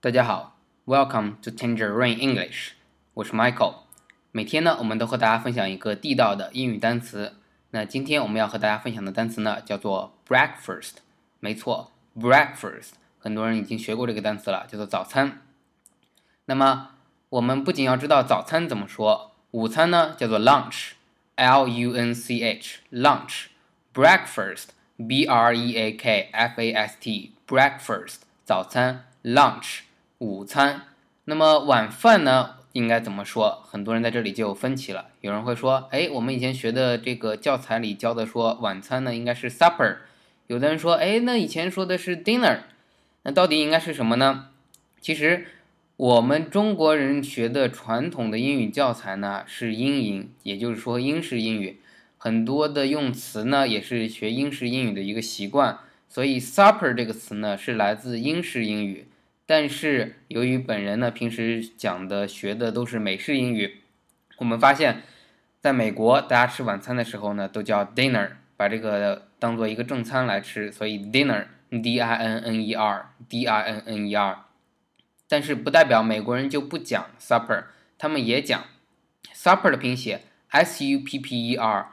大家好 ，Welcome to Tangerine English， 我是 Michael。每天呢，我们都和大家分享一个地道的英语单词。那今天我们要和大家分享的单词呢，叫做 breakfast。没错 ，breakfast， 很多人已经学过这个单词了，叫做早餐。那么我们不仅要知道早餐怎么说，午餐呢叫做 lunch，lunch，breakfast，breakfast，breakfast，早餐 lunch。午餐，那么晚饭呢应该怎么说？很多人在这里就有分歧了。有人会说，我们以前学的这个教材里教的说晚餐呢应该是 supper， 有的人说，那以前说的是 dinner， 那到底应该是什么呢？其实我们中国人学的传统的英语教材呢是英音，也就是说英式英语，很多的用词呢也是学英式英语的一个习惯，所以 supper 这个词呢是来自英式英语。但是由于本人呢平时讲的学的都是美式英语，我们发现在美国大家吃晚餐的时候呢都叫 dinner， 把这个当做一个正餐来吃，所以 dinner dinner dinner， 但是不代表美国人就不讲 supper， 他们也讲 supper 的拼写 supper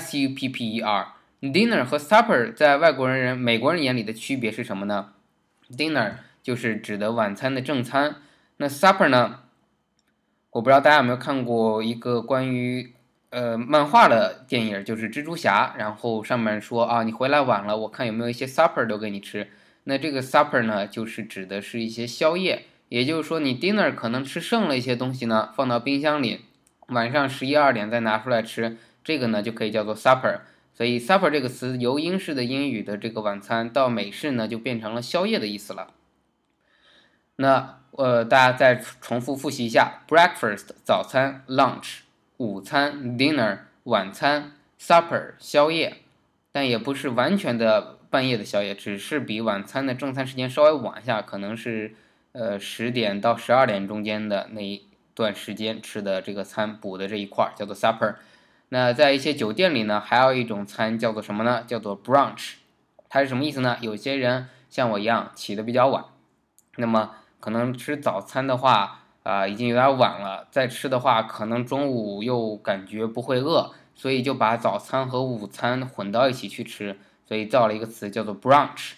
supper。 dinner 和 supper 在美国人眼里的区别是什么呢？ dinner就是指的晚餐的正餐，那 supper 呢？我不知道大家有没有看过一个关于漫画的电影，就是蜘蛛侠，然后上面说啊，你回来晚了，我看有没有一些 supper 留给你吃。那这个 supper 呢，就是指的是一些宵夜，也就是说你 dinner 可能吃剩了一些东西呢，放到冰箱里，晚上11、12点再拿出来吃，这个呢就可以叫做 supper。所以 supper 这个词由英式的英语的这个晚餐到美式呢，就变成了宵夜的意思了。那大家再重复复习一下 breakfast 早餐 lunch 午餐 dinner 晚餐 supper 宵夜，但也不是完全的半夜的宵夜，只是比晚餐的正餐时间稍微晚一下，可能是10点到12点中间的那一段时间吃的这个餐补的这一块叫做 supper。 那在一些酒店里呢，还有一种餐叫做什么呢？叫做 brunch。 它是什么意思呢？有些人像我一样起得比较晚，那么可能吃早餐的话已经有点晚了，再吃的话可能中午又感觉不会饿，所以就把早餐和午餐混到一起去吃，所以造了一个词叫做 brunch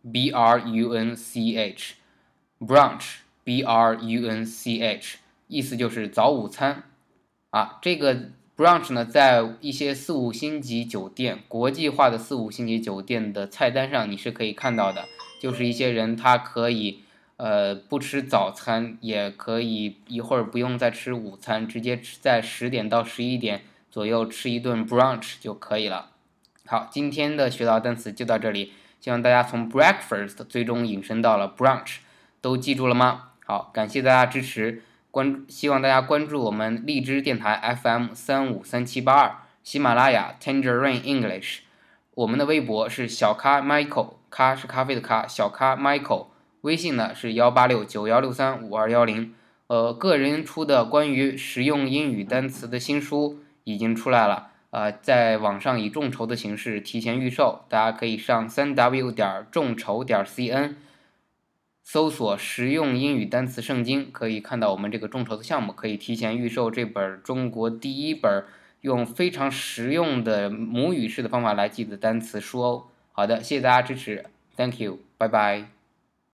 brunch brunch brunch， 意思就是早午餐这个 brunch 呢在一些4、5星级酒店，国际化的4、5星级酒店的菜单上你是可以看到的，就是一些人他可以不吃早餐，也可以一会儿不用再吃午餐，直接在10点到11点左右吃一顿 brunch 就可以了。好，今天的学到单词就到这里，希望大家从 breakfast 最终引申到了 brunch， 都记住了吗？好，感谢大家支持，希望大家关注我们荔枝电台 FM353782， 喜马拉雅 Tangerine English， 我们的微博是小咖 Michael， 咖是咖啡的咖，小咖 Michael，微信呢是18691635210，个人出的关于实用英语单词的新书已经出来了，在网上以众筹的形式提前预售，大家可以上3w 众筹.cn 搜索实用英语单词圣经，可以看到我们这个众筹的项目，可以提前预售这本中国第一本用非常实用的母语式的方法来记的单词书哦。好的，谢谢大家支持 ，Thank you， 拜拜。